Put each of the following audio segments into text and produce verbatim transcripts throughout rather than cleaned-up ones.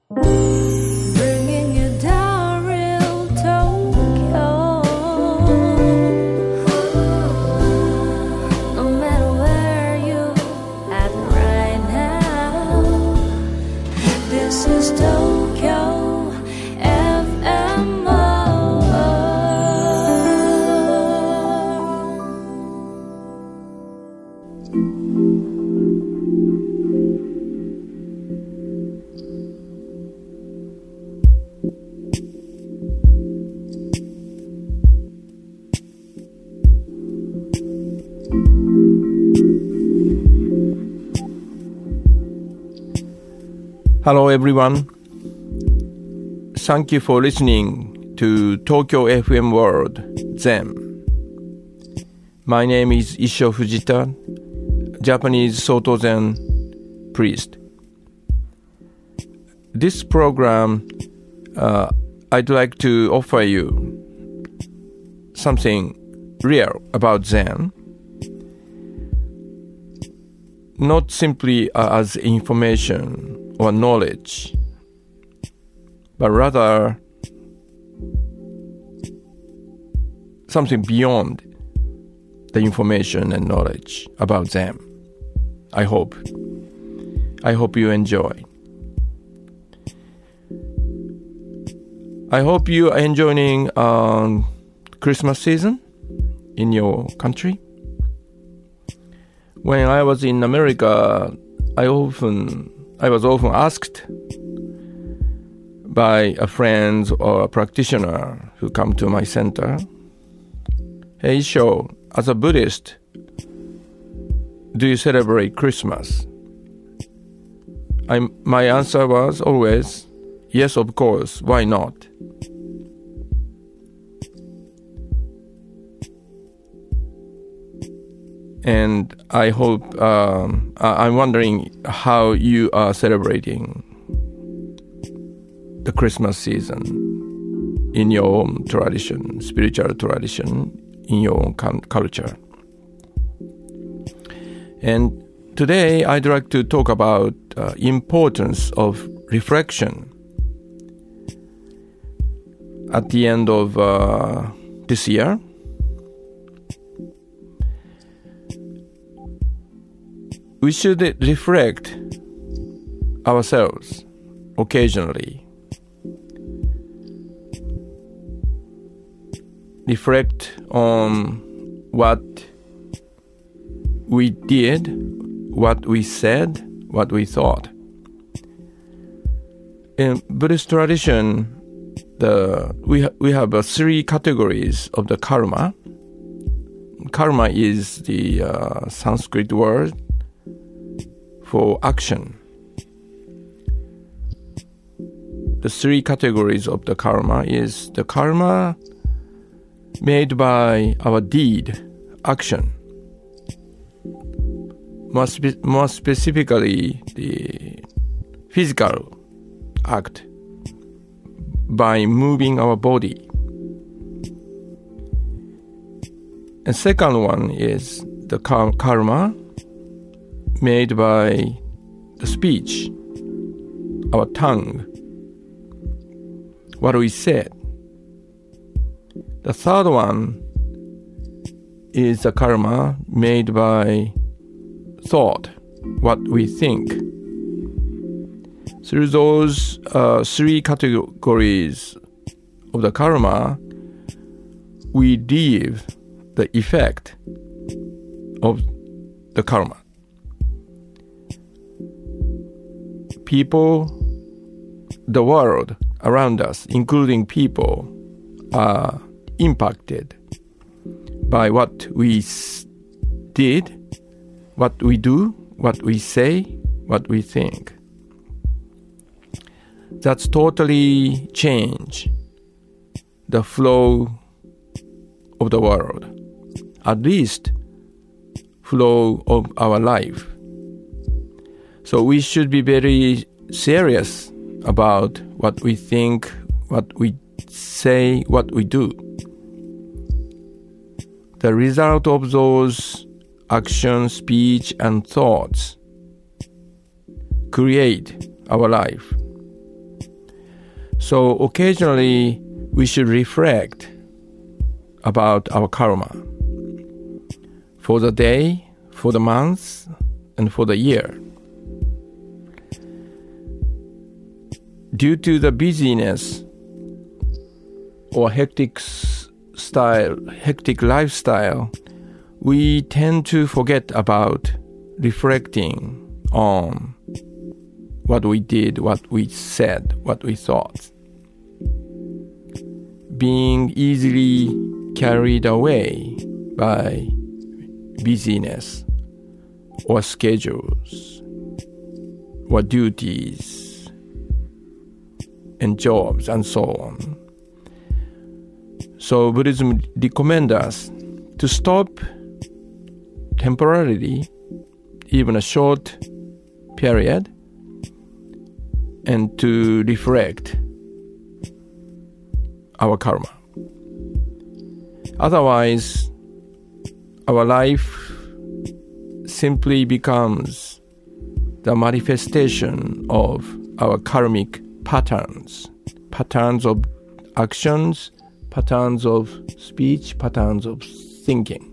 Bringing you down real Tokyo. No matter where you at right now, this is Tokyo F M. Hello everyone. Thank you for listening to Tokyo F M World Zen. My name is Issho Fujita, Japanese Soto Zen priest. This program, uh, I'd like to offer you something real about Zen, not simply uh, as information or knowledge, but rather something beyond the information and knowledge about Zen. I hope. I hope you enjoy. I hope you are enjoying um, Christmas season in your country. When I was in America, I often I was often asked by a friend or a practitioner who come to my center, "Hey, Issho, as a Buddhist, do you celebrate Christmas?" I, my answer was always, yes, of course, why not? And I hope, um, I'm wondering how you are celebrating the Christmas season in your own tradition, spiritual tradition, in your own culture. And today I'd like to talk about uh, importance of reflection at the end of uh, this year. We should reflect ourselves occasionally. Reflect on what we did, what we said, what we thought. In Buddhist tradition, the we ha- we have uh, three categories of the karma. Karma is the uh, Sanskrit word for action. The three categories of the karma is the karma made by our deed, action. More, spe- more specifically, the physical act by moving our body. And second one is the kar- karma made by the speech, our tongue, what we said. The third one is the karma made by thought, what we think. Through those uh, three categories of the karma, we leave the effect of the karma. People, the world around us, including people, are impacted by what we did, what we do, what we say, what we think. That's totally change the flow of the world, at least flow of our life. So we should be very serious about what we think, what we say, what we do. The result of those actions, speech, and thoughts create our life. So occasionally we should reflect about our karma for the day, for the month, and for the year. Due to the busyness or hectic style, hectic lifestyle, we tend to forget about reflecting on what we did, what we said, what we thought. Being easily carried away by busyness or schedules or duties and jobs and so on. So Buddhism recommends us to stop temporarily, even a short period, and to reflect our karma. Otherwise, our life simply becomes the manifestation of our karmic patterns, patterns of actions, patterns of speech, patterns of thinking.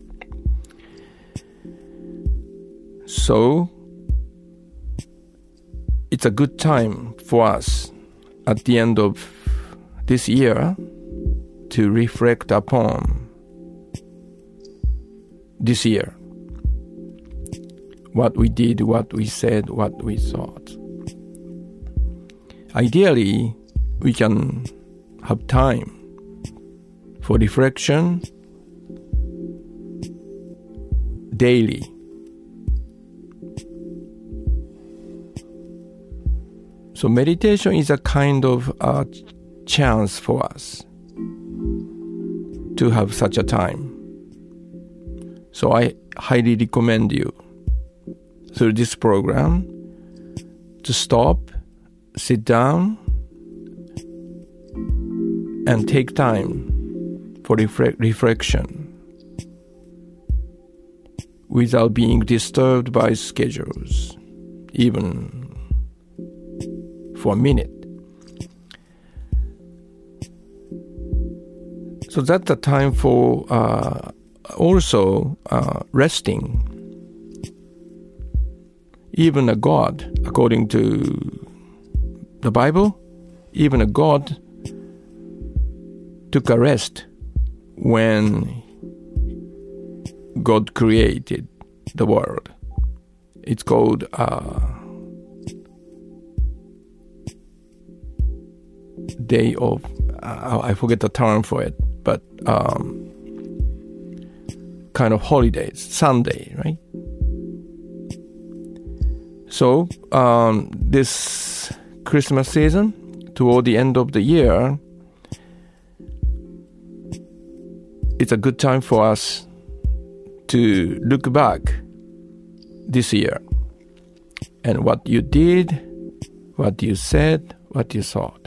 So, it's a good time for us at the end of this year to reflect upon this year. What we did, what we said, what we thought. Ideally, we can have time for reflection daily. So meditation is a kind of a chance for us to have such a time. So I highly recommend you through this program to stop, sit down, and take time for refle- reflection without being disturbed by schedules, even for a minute. So that's the time for uh, also uh, resting. Even a God, according to the Bible, even a God took a rest when God created the world. It's called uh, day of, uh, I forget the term for it, but um, kind of holidays, Sunday, right? So um, this Christmas season, toward the end of the year, it's a good time for us to look back this year and what you did, what you said, what you thought.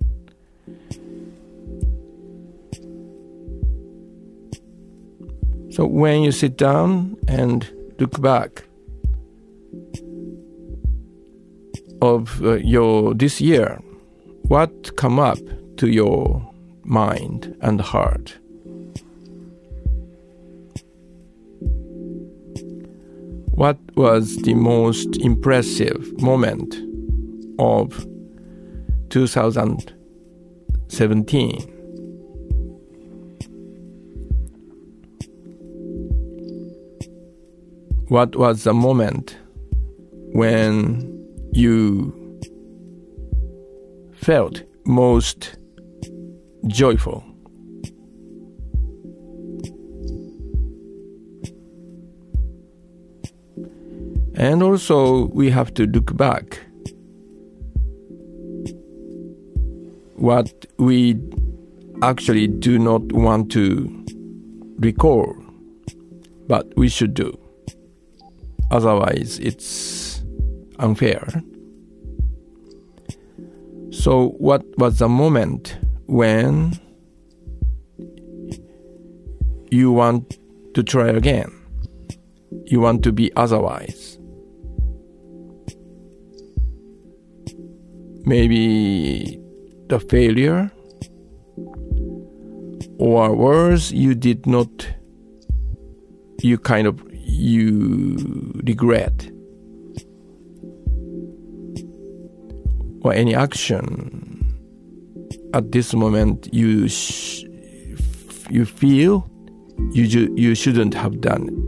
So when you sit down and look back of uh, your this year, what come up to your mind and heart? What was the most impressive moment of two thousand seventeen? What was the moment when you felt most joyful? And also we have to look back what we actually do not want to recall, but we should do. Otherwise, it's unfair. So what was the moment when you want to try again? You want to be otherwise? Maybe the failure, or worse, you did not, you kind of, you regret, or any action at this moment you sh- you feel you ju- you shouldn't have done it.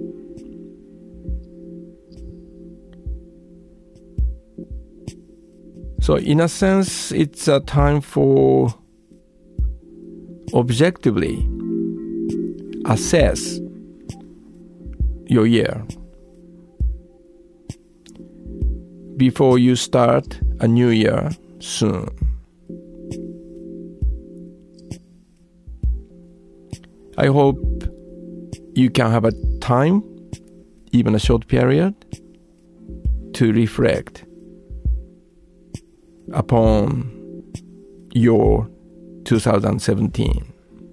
So in a sense, it's a time for objectively assess your year before you start a new year soon. I hope you can have a time, even a short period, to reflect upon your two thousand seventeen.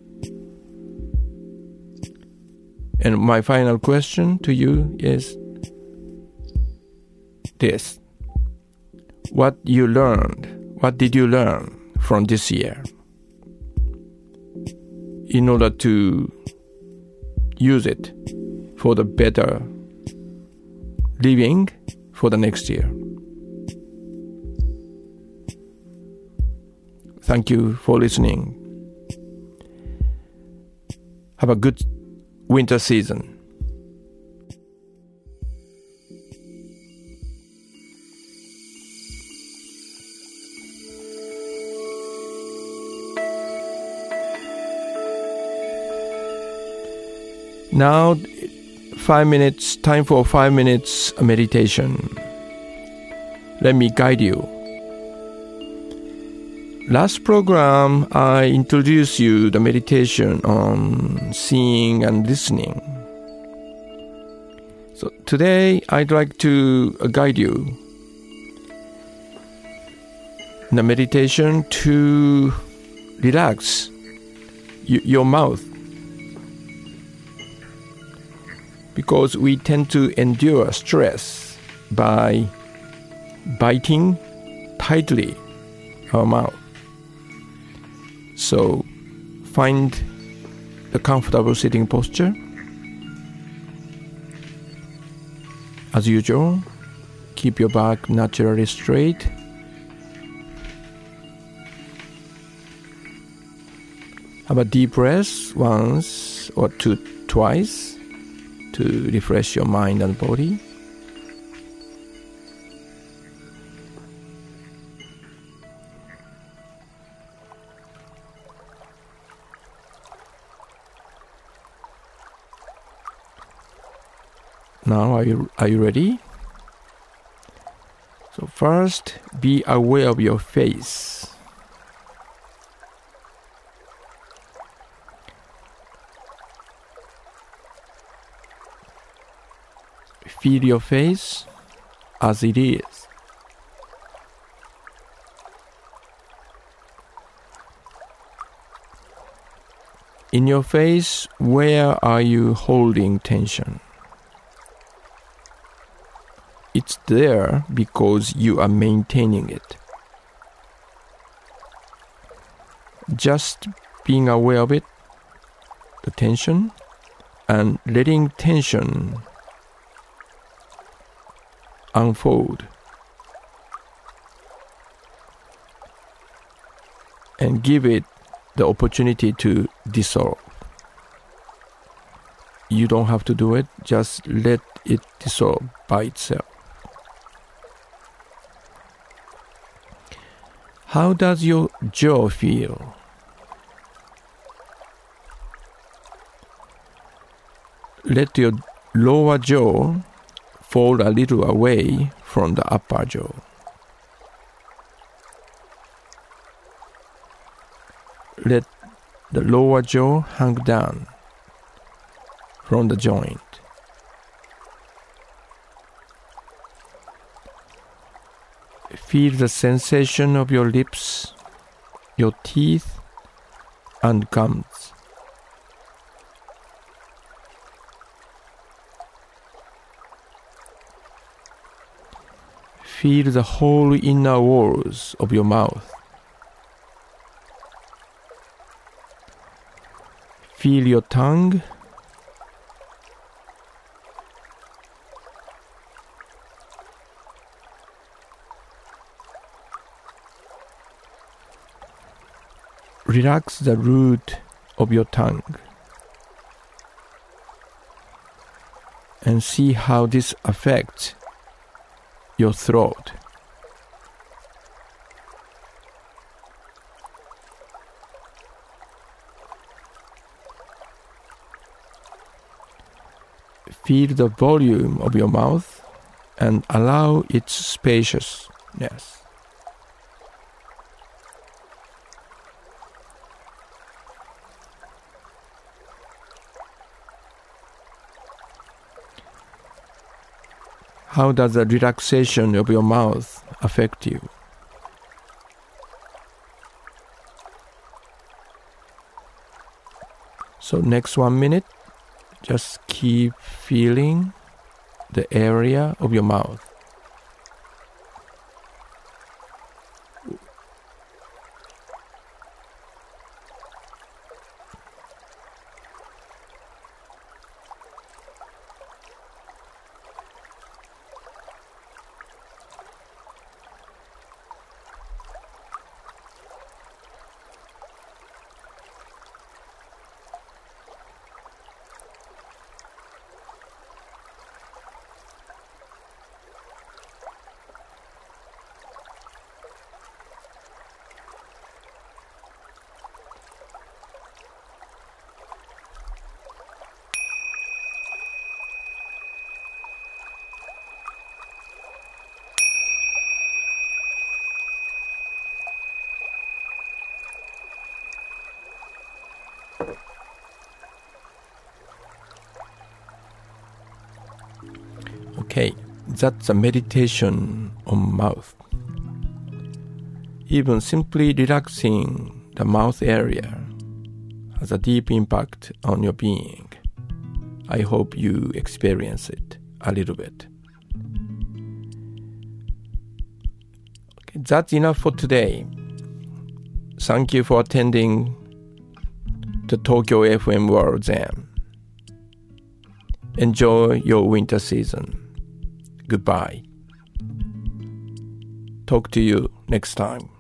And my final question to you is this. What you learned, what did you learn from this year in order to use it for the better living for the next year? Thank you for listening. Have a good winter season. Now, five minutes, time for five minutes meditation. Let me guide you. Last program, I introduced you the meditation on seeing and listening. So today, I'd like to guide you in the meditation to relax y- your mouth. Because we tend to endure stress by biting tightly our mouth. So find the comfortable sitting posture. As usual, keep your back naturally straight. Have a deep breath once or two, twice. To refresh your mind and body. Now, are you, are you ready? So first, be aware of your face. Feel your face as it is. In your face, where are you holding tension? It's there because you are maintaining it. Just being aware of it, the tension, and letting tension unfold and give it the opportunity to dissolve. You don't have to do it, just let it dissolve by itself. How does your jaw feel? Let your lower jaw fall a little away from the upper jaw. Let the lower jaw hang down from the joint. Feel the sensation of your lips, your teeth, and gums. Feel the whole inner walls of your mouth Feel your tongue. Relax the root of your tongue and see how this affects your throat. Feel the volume of your mouth and allow its spaciousness. How does the relaxation of your mouth affect you? So next one minute, just keep feeling the area of your mouth. Okay, that's a meditation on mouth. Even simply relaxing the mouth area has a deep impact on your being. I hope you experience it a little bit. Okay, that's enough for today. Thank you for attending the Tokyo F M World Zen. Enjoy your winter season. Goodbye. Talk to you next time.